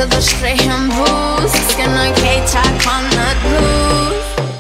to the straight and bruise. Skin like K-Talk on the blues.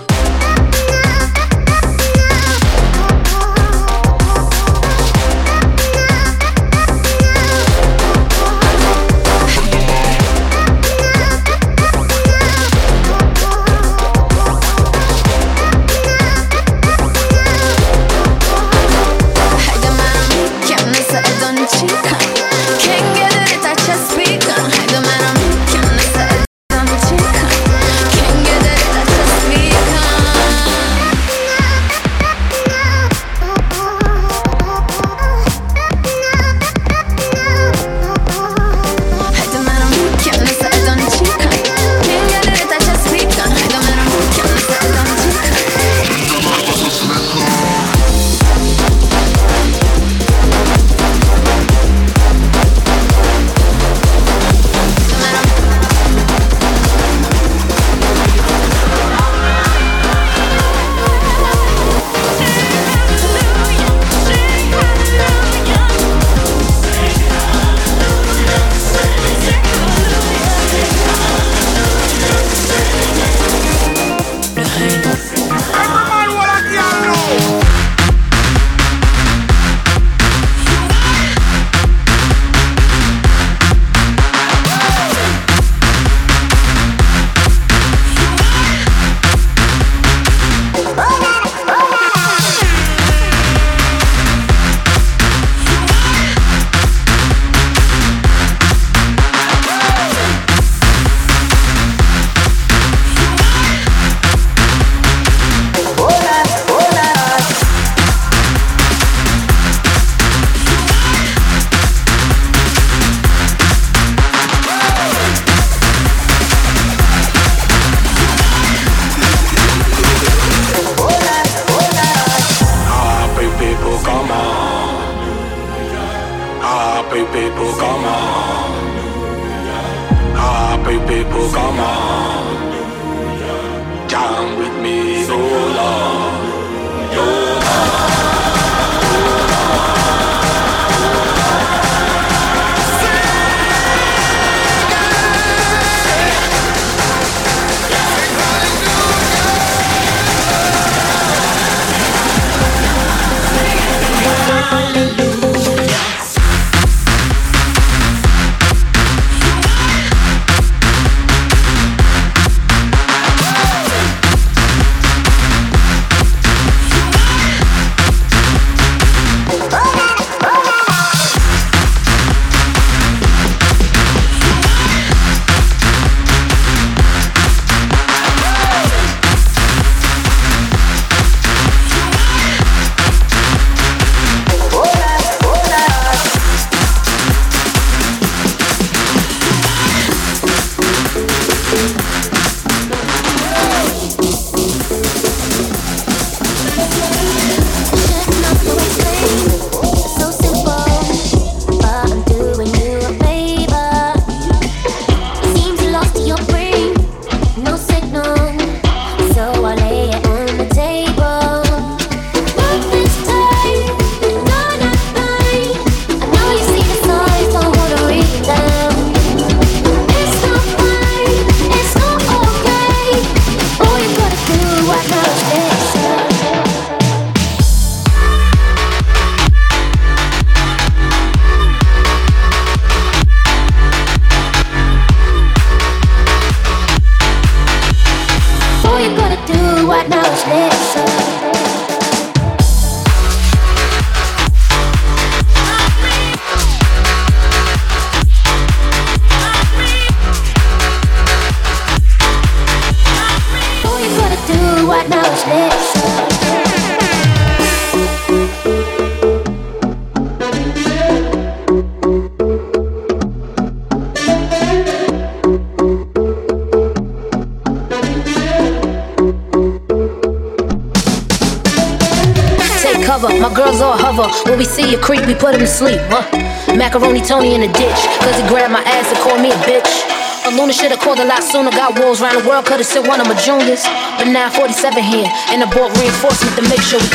My girls all hover. When we see a creep, we put him to sleep. Macaroni Tony in the ditch, cause he grabbed my ass and called me a bitch. A Luna should've called a lot sooner. Got wolves around the world, could've sent one of my juniors. But now 47 here, and I bought reinforcement to make sure we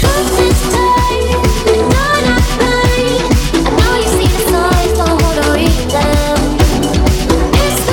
clean. I know you see the signs, don't wanna read them. It's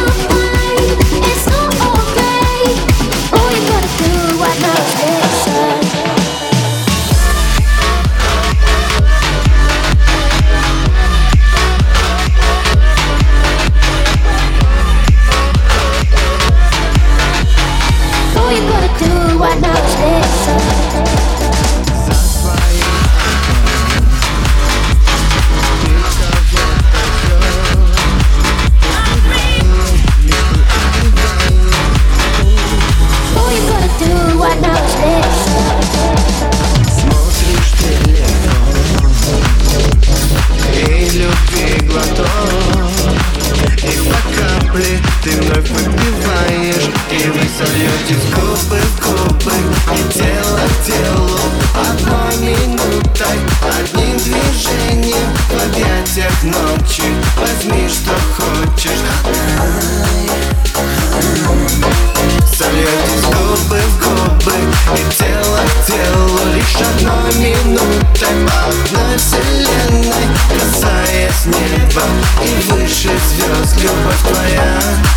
одной минутой по одной вселенной, касаясь неба и выше звезд. Любовь твоя,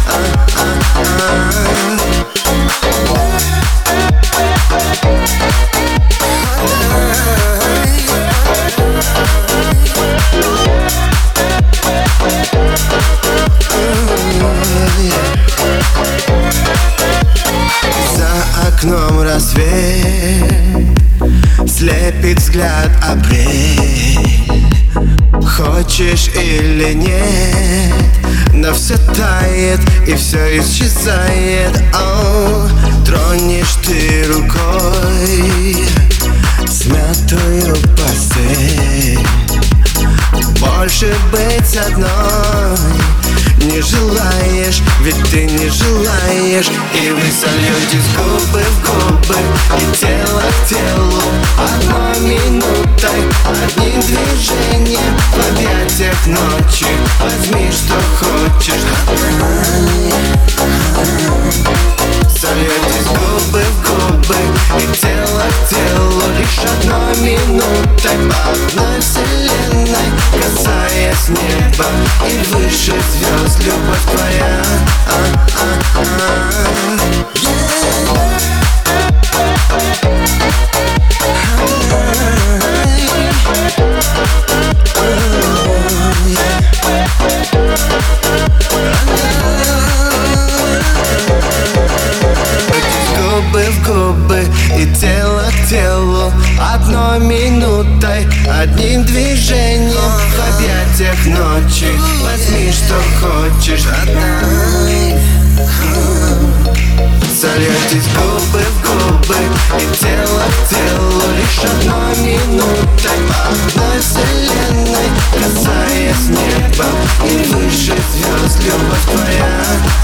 За окном рассвет, слепит взгляд апрель. Хочешь или нет, но все тает и все исчезает. Тронешь ты рукой смятую постель. Больше быть одной не желаешь, ведь ты не желаешь. И вы сольетесь губы в губы и тело к телу одной минутой, одним движением в объятиях ночи. Возьми, что хочешь. Сольетесь губы в губы и тело к телу лишь одной минутой по одной вселенной, касаясь неба и выше звезд. Любовь твоя, губы в губы и тело к телу одной минутой, одним движением в объятиях ночи. Возьми, что хочешь. Сольетесь губы в губы и тело к телу лишь одной минутой по одной вселенной, касаясь неба и выше звезд. Любовь твоя,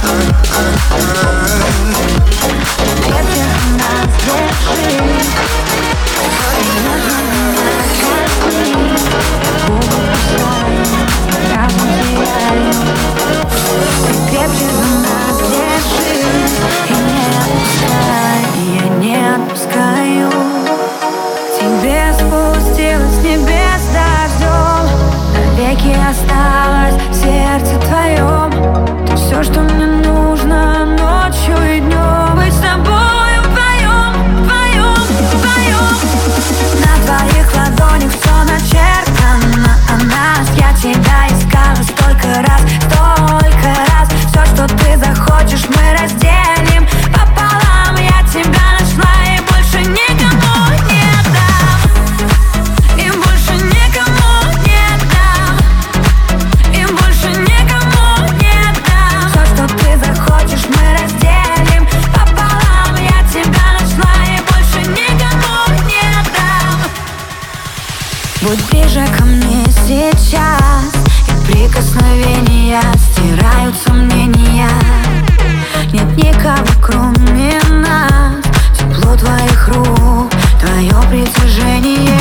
крепче за нас держи и не отпускай. Я не отпускаю. К тебе спустилась с небес дождем, навеки осталось в сердце твоем. Ты все, что мне нужно ночью и днем. Быть с тобою вдвоем, вдвоем, вдвоем. На твоих ладонях все начертано о нас. Я тебя искала столько раз, столько раз. Все, что ты захочешь, мы разделим пополам. Я тебя нашла и больше никому не дам. И больше никому не дам. И больше никому не дам. Все, что ты захочешь, мы разделим пополам. Я тебя нашла и больше никому не дам. Будь ближе ко мне сейчас, и прикосновения стирают сомнения. Нет никого, кроме нас. Тепло твоих рук, твое притяжение.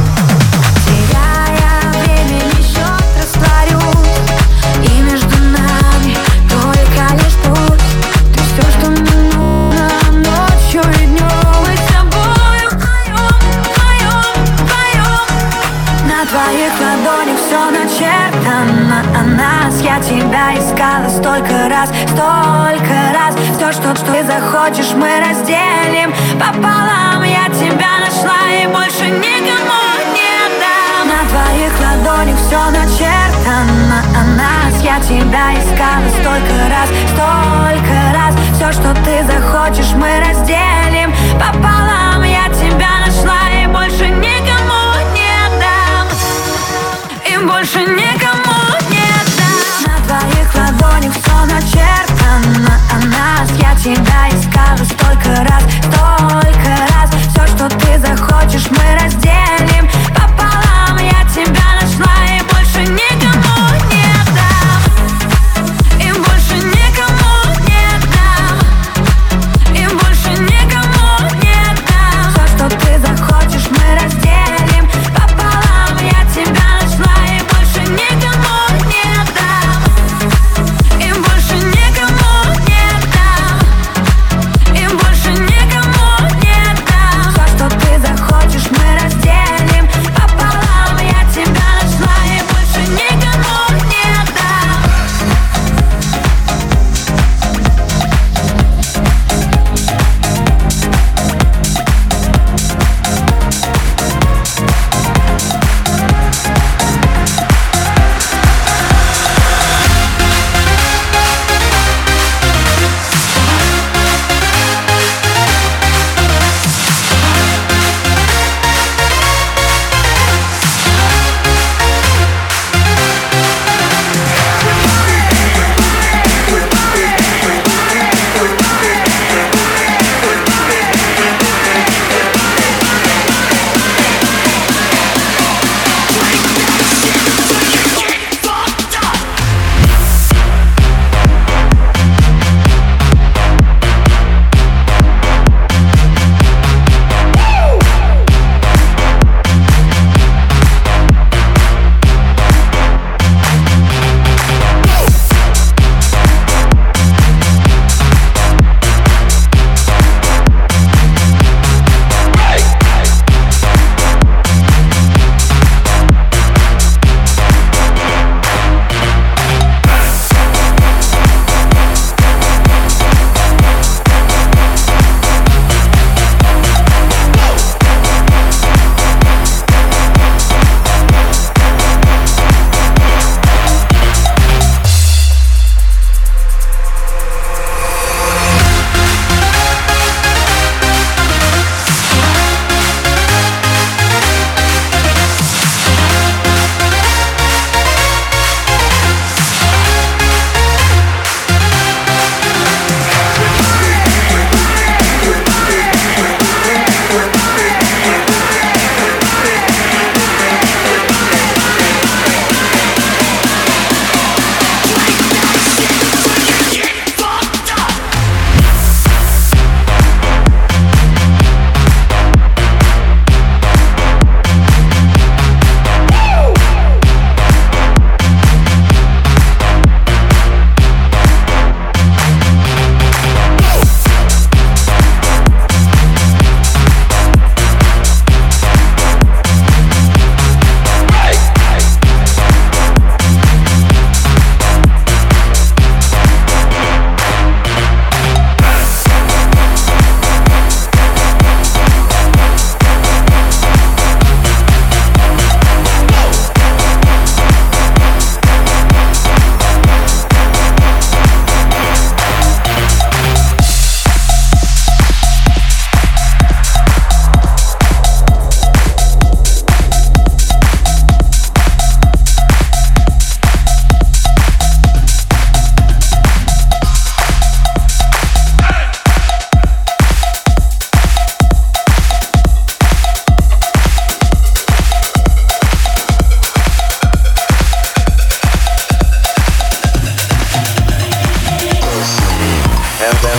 Теряя времени счет, растворюсь, и между нами только лишь пусть. Ты все, что мне нужно ночью и днем. Мы с тобою вдвоем, вдвоем, вдвоем. На твоих ладонях все начертано о нас. Я тебя искала столько раз, столько раз. Все, что ты захочешь, мы разделим пополам. Я тебя нашла и больше никому не дам. На твоих ладонях все начертано о нас. Я тебя искала столько раз, столько раз. Все, что ты захочешь, мы разделим пополам. Я тебя нашла и больше никому не дам. И больше никому не дам. На твоих ладонях все начертано о нас. Я тебя искала столько раз, столько раз. Все, что ты захочешь, мы разделим пополам. Я тебя нашла и больше никому не дам. И больше никому не дам. И больше никому не дам. Все, что ты захочешь, мы разделим пополам. Я тебя нашла и больше никому не дам. И больше никому не дам. И больше никому не дам. Все, что ты захочешь, мы разделим.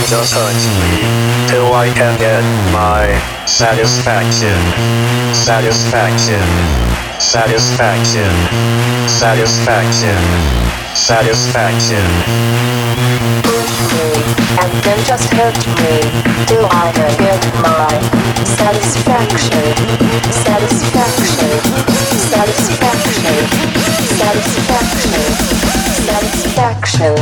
just hurt me till I can get my satisfaction. Satisfaction. Satisfaction. Satisfaction. Satisfaction. Push me and then just hurt me till I can get my satisfaction. Satisfaction. Satisfaction. Satisfaction. Satisfaction.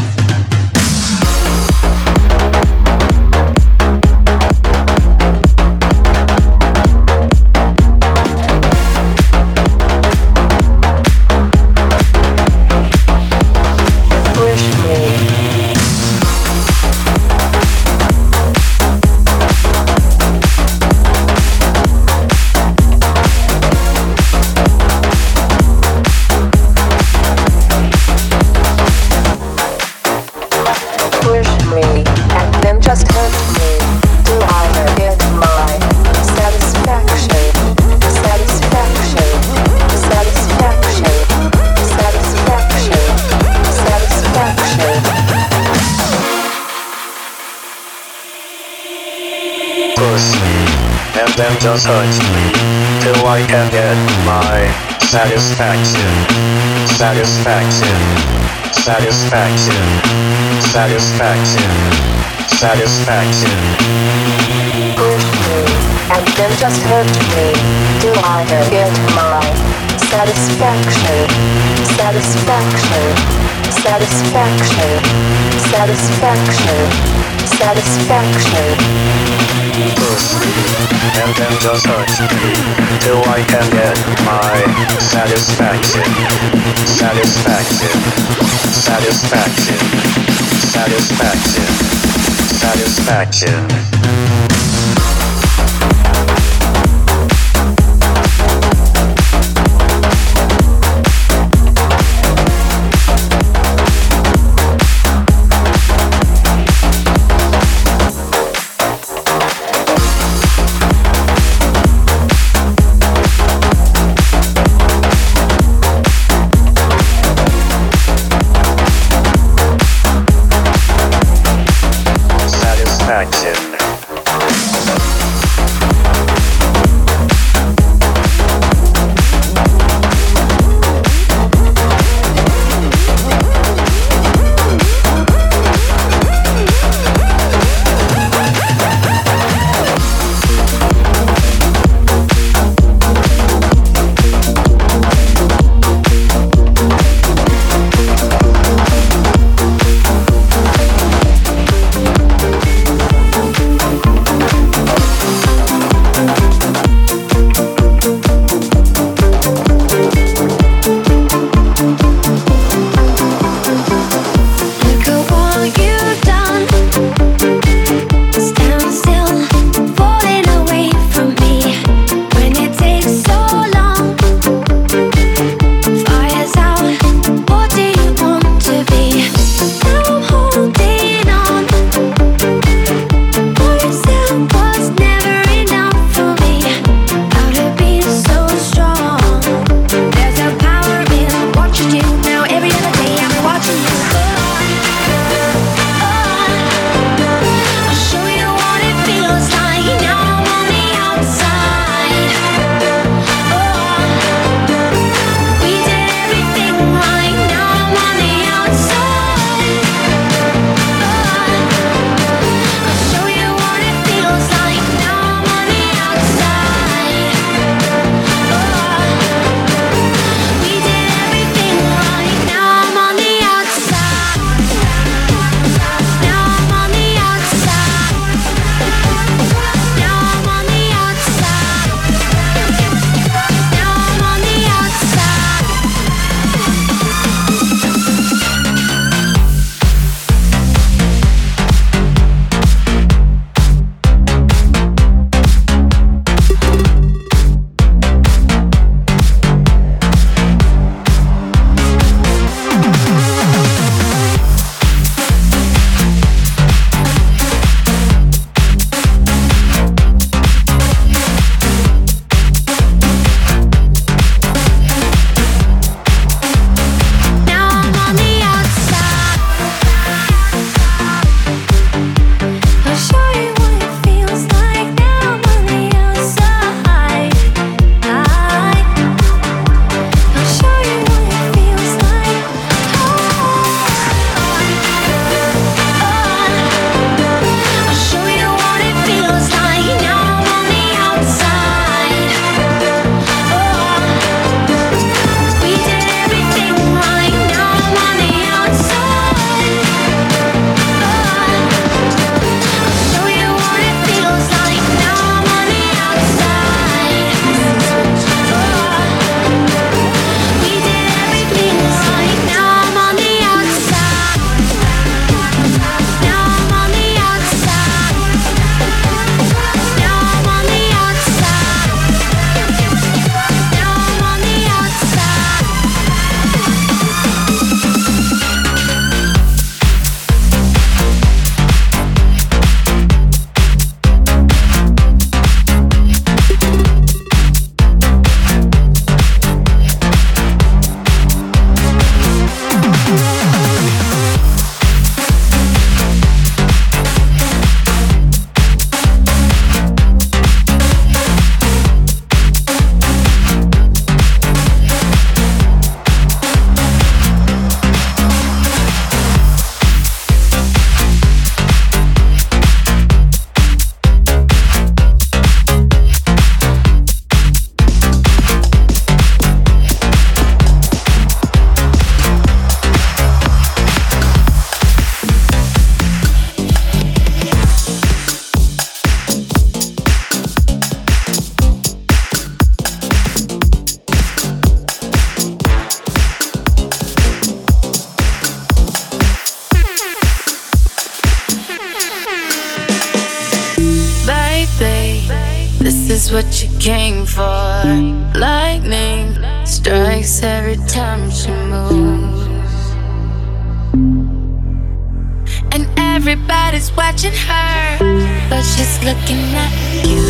Then just hurt me till I can get my satisfaction. Satisfaction. Satisfaction. Satisfaction. Satisfaction. Push me and then just hurt me till I can get my satisfaction. Satisfaction. Satisfaction. Satisfaction. Satisfaction. Push me and then just hurt me till I can get my satisfaction. Satisfaction. Satisfaction. Satisfaction. Satisfaction. Satisfaction. what you came for. Lightning strikes every time she moves, and everybody's watching her, but she's looking at you.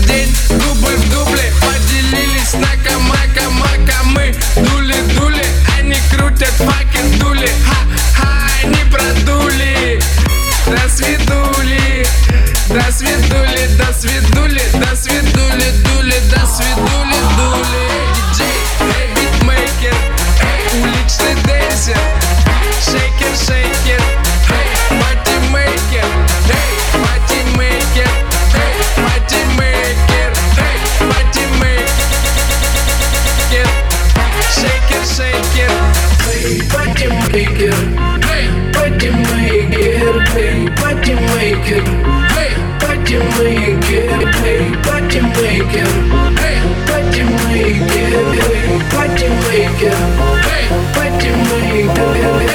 день, дубль в дубле. Поделились на камака-мака. Мы дули-дули, они крутят факер дули. Ха-ха, они продули. До свидули, до свидули, до свидули, до свидули, дули, до свидули, дули. Диджей, эй, битмейкер, эй, уличный денсер. Шейкер, шейкер, эй, патимейкер, эй, патимейкер, эй, патимейкер, эй, патимейкер. Шейкер, шейкер, эй, патимейкер, эй, патимейкер, эй, патимейкер, эй, патимейкер, эй, патимейкер, эй, патимейкер, эй, патимейкер, эй, патимейкер,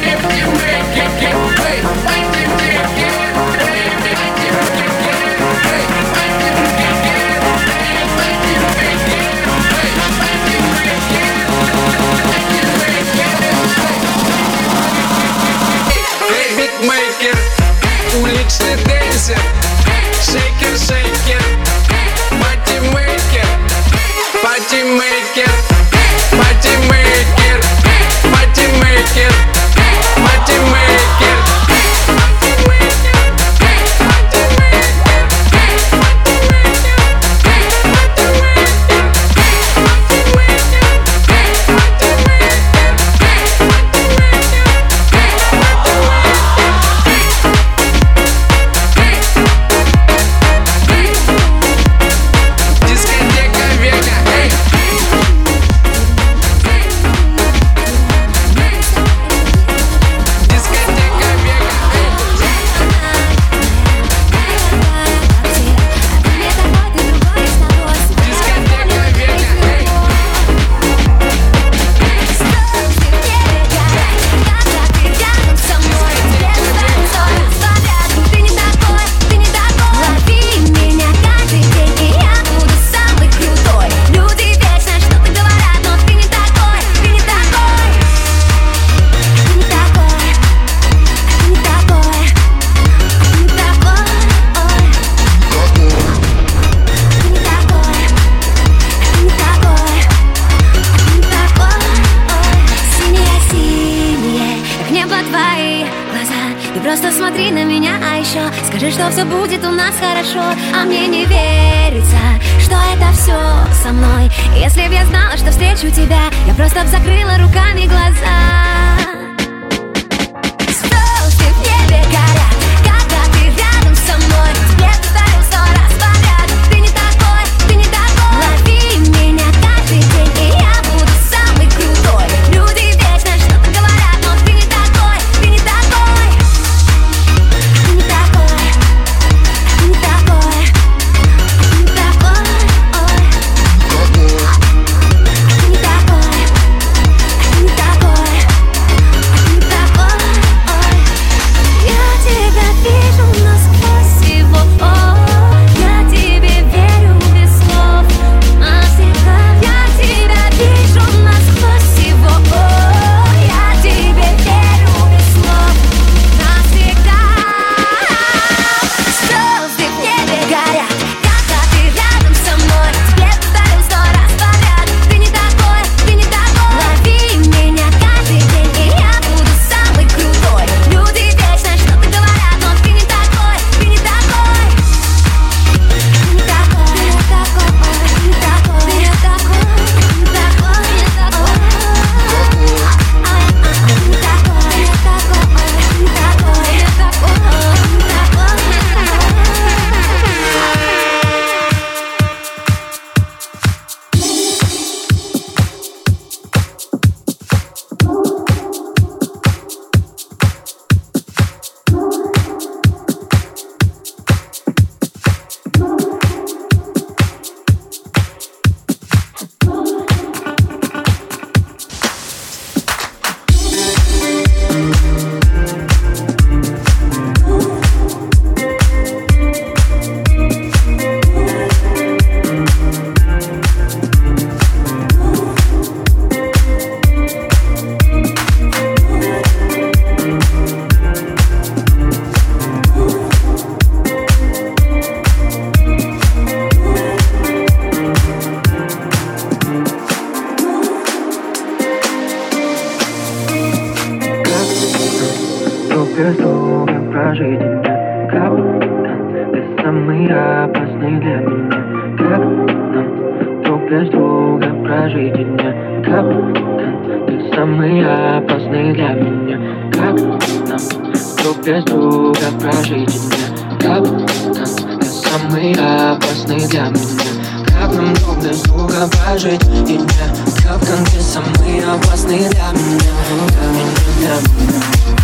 битмейкер, уличный денсер. Шейкер, шейкер, патимейкер, патимейкер, патимейкер, патимейкер, патимейкер. Просто смотри на меня, а еще скажи, что все будет у нас хорошо. А мне не верится, что это все со мной. Если б я знала, что встречу тебя, я просто б закрыла руками глаза. Звезды в небе горят, когда ты рядом со мной. Тебе повторю 100 раз подряд. Ты не такой, ты не такой. Лови меня каждый день, и я буду самый крутой. Люди вечно что-то говорят, но ты не такой, ты не такой. без друга прожить дня? Как ты самый опасный для меня? Как нам друг без друга прожить дня? Как ты самый опасный для меня? Как нам друг без друга прожить дня? Как ты самый опасный для меня? Для меня.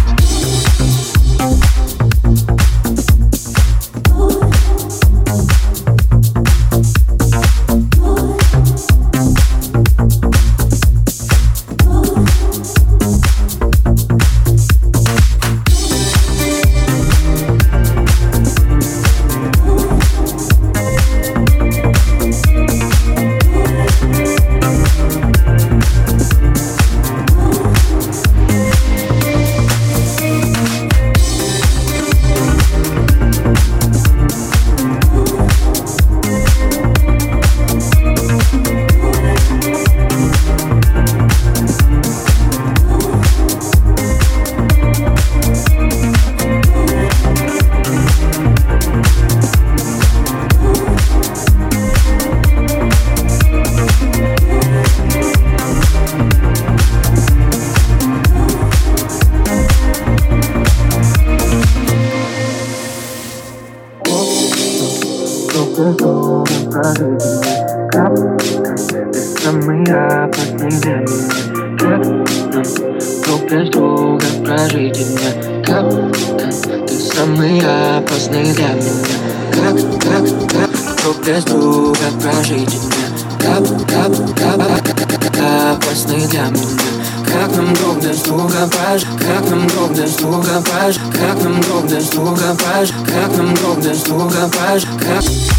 Как ты самый опасный для меня? Как нам друг без друга прожить дня? Как ты самый опасный для меня? Как друг без друга прожить дня? Как опасный для меня? Как нам друг без друга прожить? Как нам друг без друга прожить? Как нам друг без друга прожить? Как нам друг без друга прожить?